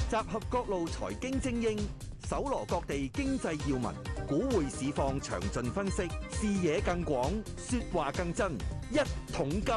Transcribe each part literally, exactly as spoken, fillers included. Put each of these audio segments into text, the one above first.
集合各路財經精英，搜羅各地經濟要聞，股匯市況詳盡分析，視野更廣，說話更真。一桶金。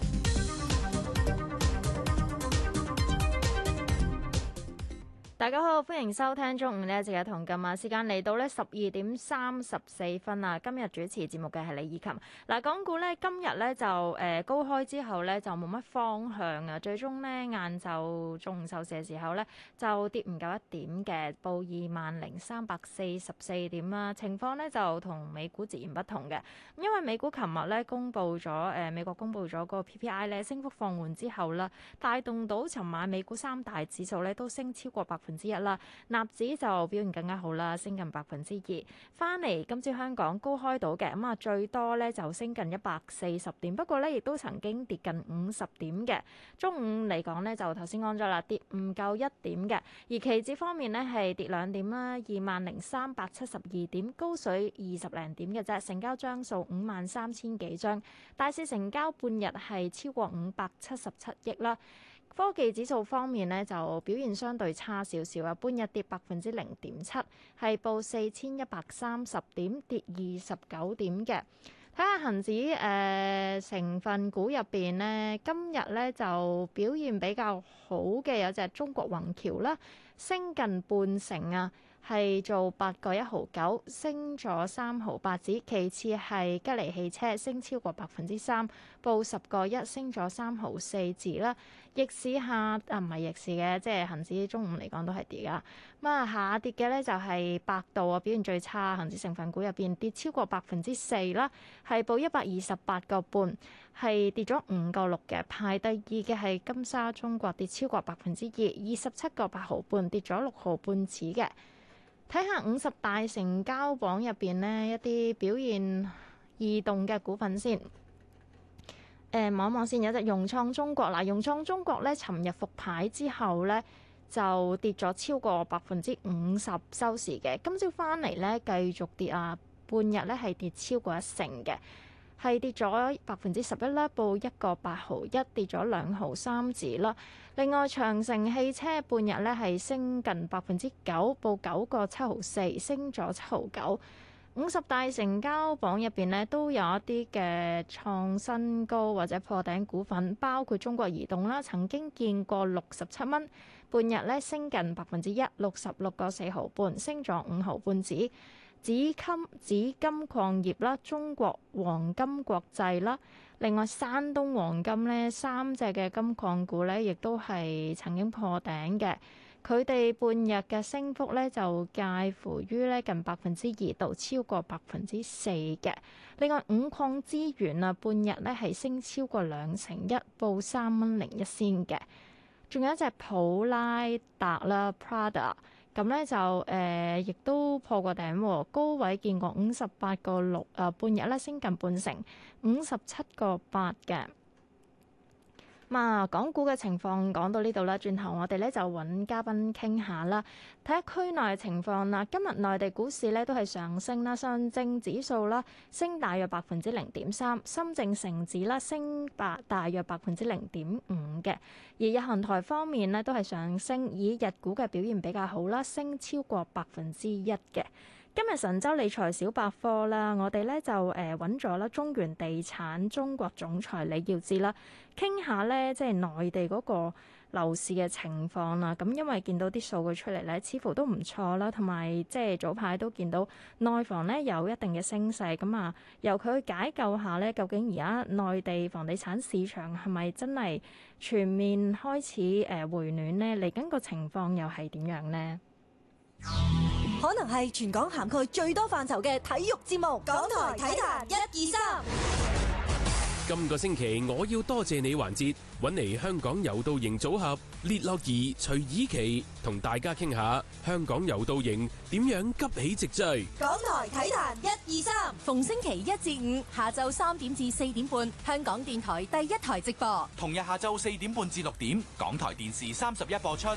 大家好，歡迎收聽中午呢一節嘅同金啊，時間嚟到呢十二點三十四分啊。今日主持節目嘅係李以琴。嗱，港股呢今日呢就誒、呃、高開之後呢就冇乜方向啊，最終呢晏晝中午收市嘅時候呢就跌唔夠一點嘅，報二萬零三百四十四點啦。情況呢就同美股截然不同嘅，因為美股琴日呢公布咗誒、呃、美國公布咗嗰個 P P I 呢升幅放緩之後啦，帶動到尋晚美股三大指數呢都升超過百分之一啦，納指就表現更加好啦，升近百分之二。翻嚟今朝香港高開到嘅，咁啊最多咧就升近一百四十點，不過咧亦都曾經跌近五十點嘅。中午嚟講咧就頭先講咗啦，跌唔夠一點嘅。而期指方面咧係跌兩點啦，二萬零三百七十二點，高水二十零點嘅啫。成交張數五萬三千幾張，大市成交半日係超過五百七十七億啦。科技指數方面呢，就表現相對差少少啊，半日跌百分之零點七，係報四千一百三十點，跌二十九點嘅。睇下恒指誒、呃、成分股入邊呢，今日呢就表現比較好嘅有隻中國宏橋啦，升近半成啊。係做八個一毫九，升咗三毫八子。其次係吉利汽車，升超過百分之三，報十個一，升咗三毫四子啦。逆市下啊，唔係逆市嘅，即係恒指中午嚟講都係跌噶。咁啊，下跌嘅咧就係百度啊，表現最差，恒指成分股入邊跌超過百分之四啦，係報一百二十八個半，係跌咗五個六嘅。排第二嘅係金沙中國，跌超過百分之二，二十七個八毫半，跌咗六毫半子嘅。睇下五十大成交榜入邊呢，一啲表現異動嘅股份先。誒、呃，望一望先，有隻融創中國嗱，融創中國咧，尋日復牌之後咧，就跌咗超過百分之五十收市嘅。今朝翻嚟咧，繼續跌啊，半日咧係跌超過一成嘅。係跌咗百分之十一啦，報一個八毫一，跌咗兩毫三子啦。另外，長城汽車半日咧係升近百分之九，報九個七毫四，升咗七毫九。五十大成交榜入邊咧都有一啲嘅創新高或者破頂股份，包括中國移動啦，曾經見過六十七蚊，半日咧升近百分之一，六十六個四毫半，升咗五毫半子。紫金紫金礦業啦，中國黃金國際啦，另外山東黃金咧三隻嘅金礦股咧，亦都係曾經破頂嘅。佢哋半日嘅升幅咧就介乎於咧近百分之二到超過百分之四嘅。另外五礦資源啊，半日咧係升超過兩成一，報三蚊零一仙嘅。仲有一隻普拉達啦 Prada。咁咧就誒、呃，亦都破過頂喎，高位見過五十八個六，誒半日咧升近半成，五十七個八嘅。咁啊，港股嘅情況講到呢度啦，轉頭我哋咧就揾嘉賓傾下啦，睇下區內嘅情況啦。今日內地股市咧都係上升啦，上證指數啦升大約百分之零點三，深證成指啦升百大約百分之零點五嘅。而日韓台方面咧都係上升，以日股嘅表現比較好啦，升超過百分之一嘅。今日神州理財小百科啦，我哋咧就誒揾咗啦中原地產中國總裁李耀智啦，傾下咧即係內地嗰個樓市嘅情況啦。咁因為見到啲數據出嚟咧，似乎都唔錯啦，同埋即係早排都見到內房咧有一定嘅升勢。咁啊，由佢去解構下咧，究竟而家內地房地產市場係咪真係全面開始誒回暖呢？嚟緊個情況又係點樣呢？ 可能係全港涵蓋最多範疇嘅體育節目，港台體壇一二三。 今個星期我要多謝你環節，揾嚟香港柔道營組合列樂怡、徐以琪，同大家傾下香港柔道營點樣急起直追。 港台體壇一二三，逢星期一至五下晝三點至四點半，香港電台第一台直播； 同日下晝四點半至六點，港台電視三十一播出。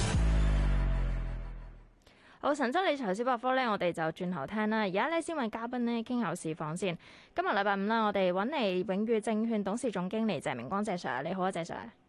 好，神州理財小百科咧，我哋就轉頭聽啦。而家咧先揾嘉賓咧傾下市況先。今日禮拜五啦，我哋揾嚟永裕證券董事總經理謝明光謝 Sir，你好啊，謝 Sir。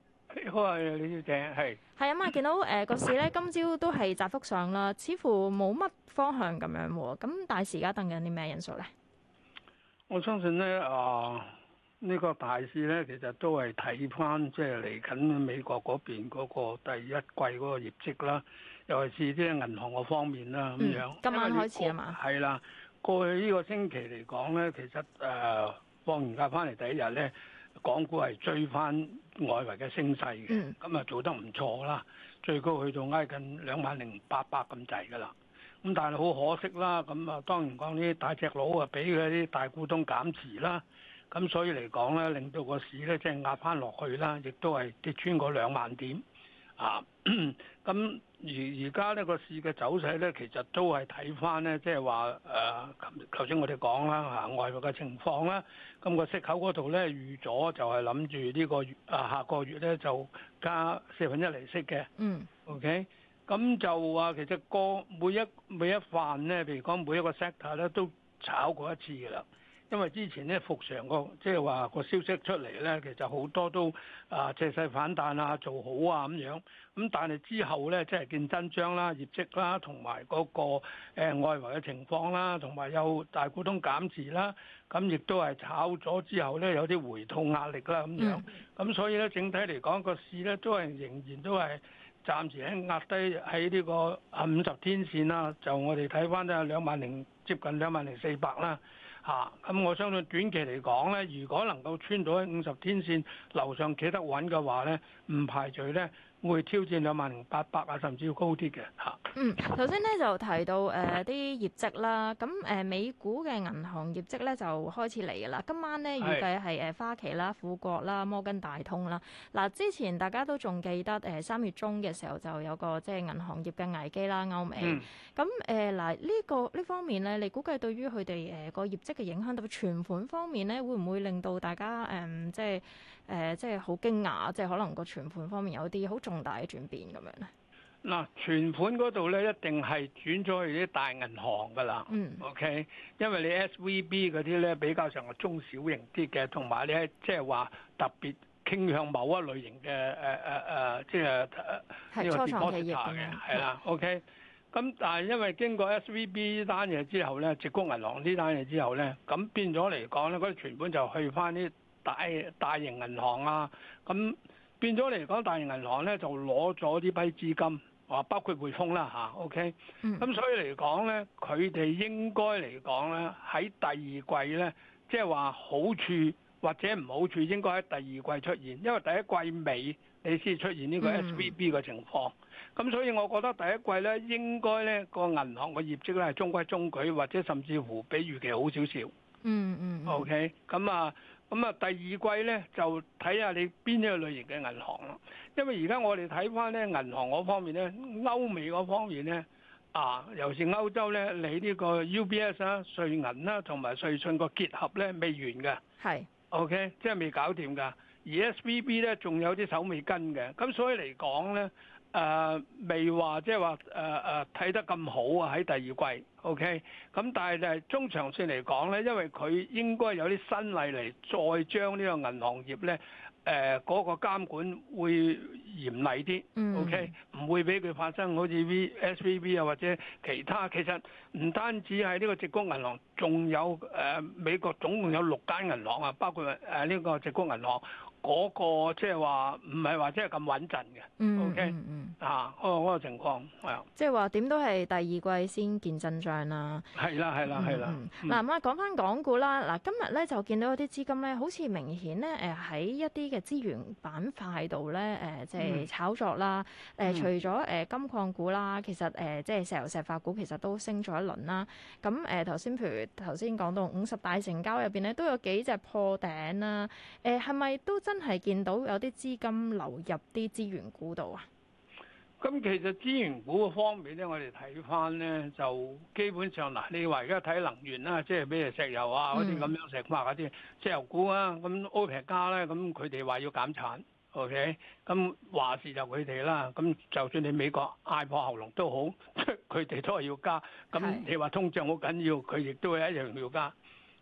係好啊，李小姐係。 係啊嘛，見到誒個市咧今朝都係窄幅上啦，似乎冇乜方向咁樣喎。咁大市而家等緊啲咩因素咧？ 我相信咧啊，呢、這個大市咧其實都係睇翻即係嚟緊美國嗰邊嗰個第一季嗰個業績啦，尤其是啲銀行嗰方面啦咁樣。 嗯、今晚開始啊嘛。 係啦，過去呢個星期嚟講咧，其實誒、呃、放完假翻嚟第一日咧，港股係追翻外圍嘅升勢嘅，咁啊、嗯、做得唔錯啦，最高去到挨近兩萬零八百咁滯噶啦。咁但係好可惜啦，咁啊當然講呢啲大隻佬啊，俾佢啲大股東減持啦，咁所以嚟講咧，令到個市咧即係壓翻落去啦，亦都係跌穿嗰兩萬點啊。咁而而家呢個市嘅走勢咧，其實都係睇翻咧，即係話誒，頭先我哋講啦嚇，外圍嘅情況啦，咁個息口嗰度咧預咗就係諗住呢個月啊下個月咧就加四分一厘息嘅。嗯。OK。咁就話其實個每一每一範咧，譬如講每一個 sector 咧都炒過一次㗎啦。因為之前咧復常個即係話個消息出嚟咧，其實好多都啊借勢反彈啊，做好啊咁樣。咁但係之後咧，即係見真章啦、業績啦，同埋嗰個誒、呃、外圍嘅情況啦，同埋有大股東減持啦，咁亦都係炒咗之後咧有啲回吐壓力啦咁樣。咁、嗯、所以咧整體嚟講個市咧都係仍然都係。暫時喺壓低喺呢個啊五十天線啦，就我哋睇翻都係兩萬零接近兩萬零四百啦嚇。咁我相信短期嚟講咧，如果能夠穿到喺五十天線樓上企得穩嘅話咧，唔排除咧會挑戰兩萬零八百啊，甚至要高啲嘅嚇。 嗯，頭先咧就提到誒啲、呃、業績啦，咁誒、呃、美股嘅銀行業績咧就開始嚟㗎啦。今晚咧預計係誒花旗啦、富國啦、摩根大通啦。嗱，之前大家都仲記得誒三月中嘅時候就有個即係銀行業嘅危機啦，歐美。咁誒嗱呢個呢方面咧，你估計對於佢哋誒個業績嘅影響，特別存款方面咧，會唔會令到大家誒、呃、即係誒、呃、即係好驚訝，即係可能個存款方面有啲好重大嘅轉變咁樣咧？ 嗱，存款嗰度咧一定係轉咗去啲大銀行㗎啦。嗯。OK，因為你 S V B 嗰啲咧比較上係中小型啲嘅，同埋咧即係話特別傾向某一類型嘅誒誒誒，即係呢個 deposit 嘅，係啦。OK，咁但係因為經過 S V B 呢單嘢之後咧，矽谷銀行呢單嘢之後咧，咁變咗嚟講咧，嗰啲存款就去翻啲大大型銀行啊，咁變咗嚟講，大型銀行咧就攞咗呢批資金。啊，包括匯豐啦嚇 ，OK，咁、嗯、所以嚟講咧，佢哋應該嚟講咧，喺第二季咧，即係話好處或者唔好處，應該喺第二季出現，因為第一季尾你先出現呢個 S V B 嘅情況，咁、嗯、所以我覺得第一季咧應該咧個銀行嘅業績咧係中規中矩，或者甚至乎比預期好少少。嗯嗯。OK，咁啊。咁啊，第二季咧就睇下你邊一個類型嘅銀行咯。因為而家我哋睇翻咧銀行嗰方面咧，歐美嗰方面咧，啊，尤其是歐洲咧，你呢個 U B S 啦、瑞銀啦同埋瑞信個結合咧未完嘅，係是 OK，即係未搞掂㗎。而 S V B 咧仲有啲手尾跟嘅，咁所以嚟講咧。誒、呃、未話即係話誒誒睇得咁好啊喺第二季 ，OK，咁但係就係中長線嚟講咧，因為佢應該有啲新例嚟再將呢個銀行業咧誒嗰個監管會嚴厲啲、嗯、，OK，唔會俾佢發生好似 V S V B 啊或者其他。其實唔單止係呢個矽谷銀行，仲有誒、呃、美國總共有六間銀行啊，包括誒呢個矽谷銀行。嗰個即係話唔係話即係咁穩陣嘅，OK 啊，嗰個嗰個情況係啊， 即係話點都係第二季先見真章啦。 係啦，係啦，係啦。 嗱咁啊，講翻港股啦。嗱，今日咧就見到有啲資金咧，好似明顯咧誒喺一啲嘅資源板塊度咧誒，即係炒作啦。誒，除咗誒金礦股啦，其實誒即係石油石化股其實都升咗一輪啦。咁誒頭先譬如頭先講到五十大成交入邊咧，都有幾隻破頂啦。誒係咪都真？真係見到有啲資金流入啲資源股度啊！ 咁其實資源股嘅方面咧，我哋睇翻咧就基本上嗱，你話而家睇能源啦，即係譬如石油啊嗰啲咁樣石化嗰啲石油股啊，咁 OPEC 加咧，咁佢哋話要減產 ，OK，咁話事就佢哋啦。咁就算你美國嗌破喉嚨都好，佢哋都係要加。咁你話通脹好緊要，佢亦都係一樣要加。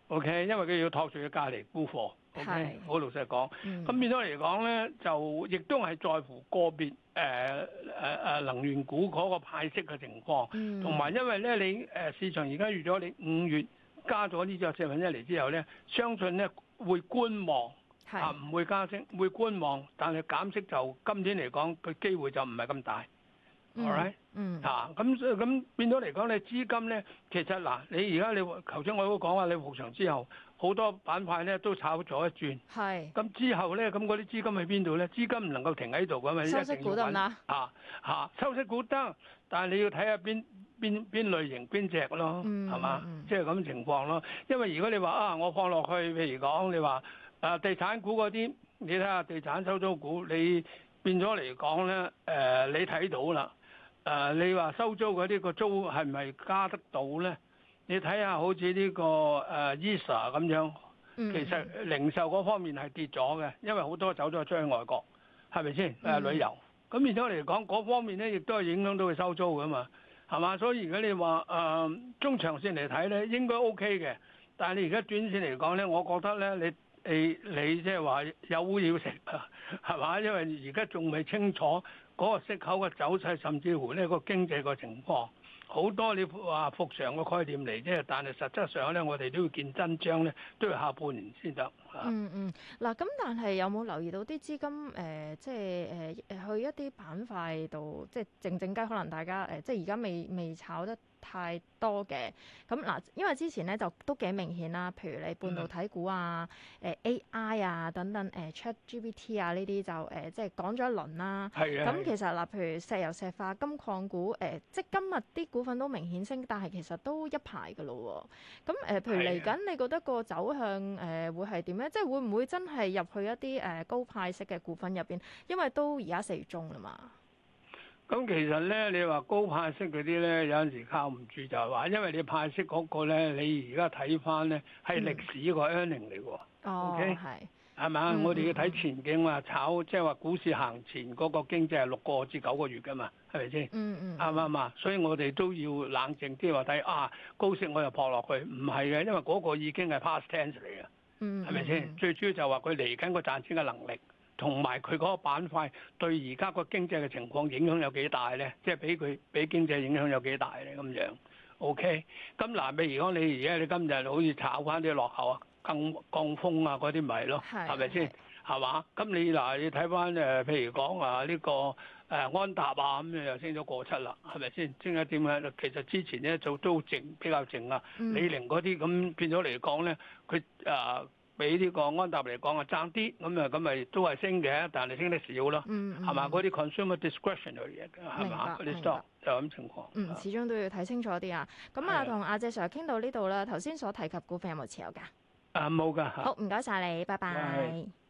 OK， 因為佢要托住佢隔離沽貨。OK， 好老實講，咁、 嗯、 變咗嚟講咧，就亦都係在乎個別誒誒誒能源股嗰個派息嘅情況，同埋、嗯、因為咧你誒市場而家預咗你五月加咗呢隻四分一嚟之後咧，相信咧會觀望，是啊唔會加息，會觀望，但係減息就今年嚟講個機會就唔係咁大。 嗯 All right? 嗯， 啊，咁咁變咗嚟講，你資金咧，其實嗱，你而家你頭先我都講話，你復場之後，好多板塊咧都炒咗一轉，係是，咁之後咧，咁嗰啲資金喺邊度咧？資金唔能夠停喺度㗎嘛， 收息股得唔得？ 啊啊，收息股得，但係你要睇下邊邊邊類型邊隻咯，係嘛、嗯？即係咁情況咯。因為如果你話啊，我放落去，譬如講你話啊地產股嗰啲，你睇下地產收租股，你變咗嚟講咧，誒、呃、你睇到啦。誒、呃，你話收租嗰啲個租係咪加得到咧？你睇下好似呢、這個誒、呃、E S A 咁樣，其實零售嗰方面係跌咗嘅，因為好多走咗出去外國，係咪先？誒、呃、旅遊，咁變咗嚟講，嗰方面咧亦都係影響到佢收租噶嘛，係嘛？所以如果你話誒、呃、中長線嚟睇咧，應該 OK 嘅，但係你而家短線嚟講咧，我覺得咧，你你你即係話有糊要食啊，係嘛？因為而家仲未清楚。嗰個息口嘅走勢，甚至乎呢個經濟個情況，好多你話復常嘅概念嚟啫。但係實質上咧，我哋都要見真章咧，都要下半年先得。 嗯嗯，嗱，咁但係有冇留意到啲資金誒、呃，即係誒誒去一啲板塊度，即係靜靜雞，可能大家誒、呃，即係而家未未炒得太多嘅。咁嗱，因為之前咧就都幾明顯啦，譬如你半導體股啊、誒、呃、A I 啊等等，誒、呃、ChatGPT 啊呢啲就誒、呃、即係講咗一輪啦。係啊。咁其實嗱，譬如石油石化、金礦股，誒、呃、即係今日啲股份都明顯升，但係其實都一排㗎咯喎。咁誒、呃，譬如嚟緊，你覺得個走向誒、呃、會係點咧？即係會唔會真係入去一啲誒高派息嘅股份入邊？因為都而家四月中啦嘛。 咁其實咧，你話高派息嗰啲咧，有陣時靠唔住就係話，因為你派息嗰個咧，你而家睇翻咧係歷史個 earning 嚟喎。哦，係係咪啊？我哋要睇前景話炒，即係話股市行前嗰個經濟係六個至九個月㗎嘛，係咪先？嗯嗯。啱唔啱啊？所以我哋都要冷靜啲話睇啊，高息我又撲落去，唔係嘅，因為嗰個已經係 past tense 嚟嘅。係咪先？最主要就話佢嚟緊個賺錢嘅能力，同埋佢嗰個板塊對而家個經濟嘅情況影響有幾大咧？即係俾佢俾經濟影響有幾大咧？咁樣 OK。咁嗱，譬如講你而家你今日好似炒翻啲落後啊、更降風啊嗰啲咪咯，係咪先？係嘛？咁你嗱，你睇翻誒，譬如講啊呢個誒安踏啊咁樣又升咗過七啦，係咪先？升一點啊？其實之前咧就都靜比較靜啊。嗯、李寧嗰啲咁變咗嚟講咧，佢誒比呢個安踏嚟講啊爭啲，咁啊咁咪都係升嘅，但係升得少咯。嗯係嘛？嗰啲 consumer discretionary 嘅係嘛？嗰啲 stock 就咁情況。 嗯，始終都要睇清楚啲啊。咁啊，同阿謝 Sir 傾到呢度啦。頭先所提及股份有冇持有㗎？ 啊冇㗎。 好，唔該晒你，拜拜。